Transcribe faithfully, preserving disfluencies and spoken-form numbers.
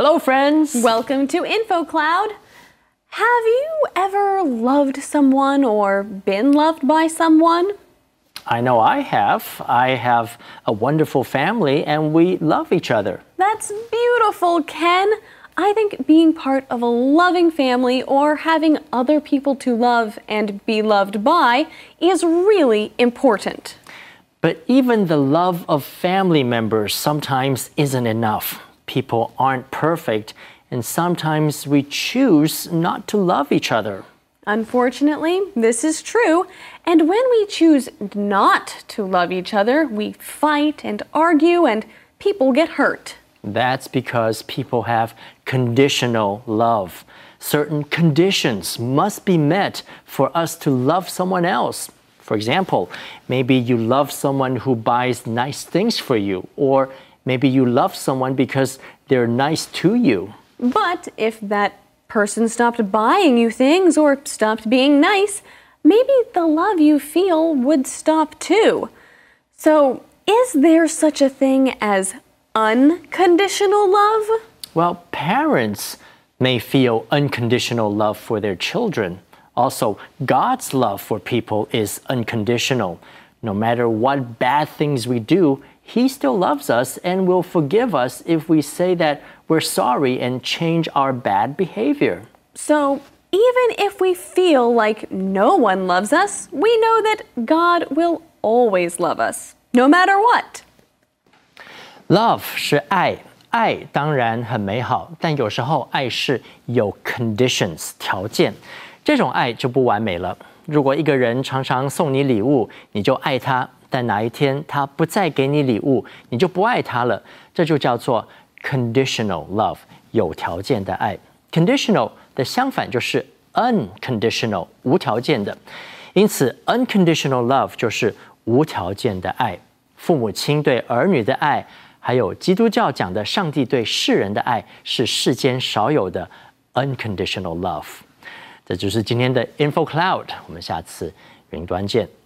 Hello, friends. Welcome to InfoCloud. Have you ever loved someone or been loved by someone? I know I have. I have a wonderful family and we love each other. That's beautiful, Ken. I think being part of a loving family or having other people to love and be loved by is really important. But even the love of family members sometimes isn't enough. People aren't perfect, and sometimes we choose not to love each other. Unfortunately, this is true. And when we choose not to love each other, we fight and argue and people get hurt. That's because people have conditional love. Certain conditions must be met for us to love someone else. For example, maybe you love someone who buys nice things for you, or maybe you love someone because they're nice to you. But if that person stopped buying you things or stopped being nice, maybe the love you feel would stop too. So, is there such a thing as unconditional love? Well, parents may feel unconditional love for their children. Also, God's love for people is unconditional. No matter what bad things we do, He still loves us and will forgive us if we say that we're sorry and change our bad behavior. So, even if we feel like no one loves us, we know that God will always love us, no matter what. Love 是爱，爱当然很美好，但有时候爱是有 conditions 条件，这种爱就不完美了。如果一个人常常送你礼物，你就爱他，但哪一天他不再给你礼物，你就不爱他了，这就叫做 conditional love 有条件的爱。 Conditional 的相反就是 unconditional 无条件的，因此 unconditional love 就是无条件的爱。父母亲对儿女的爱，还有基督教讲的上帝对世人的爱，是世间少有的 unconditional love。这就是今天的 InfoCloud， 我们下次云端见。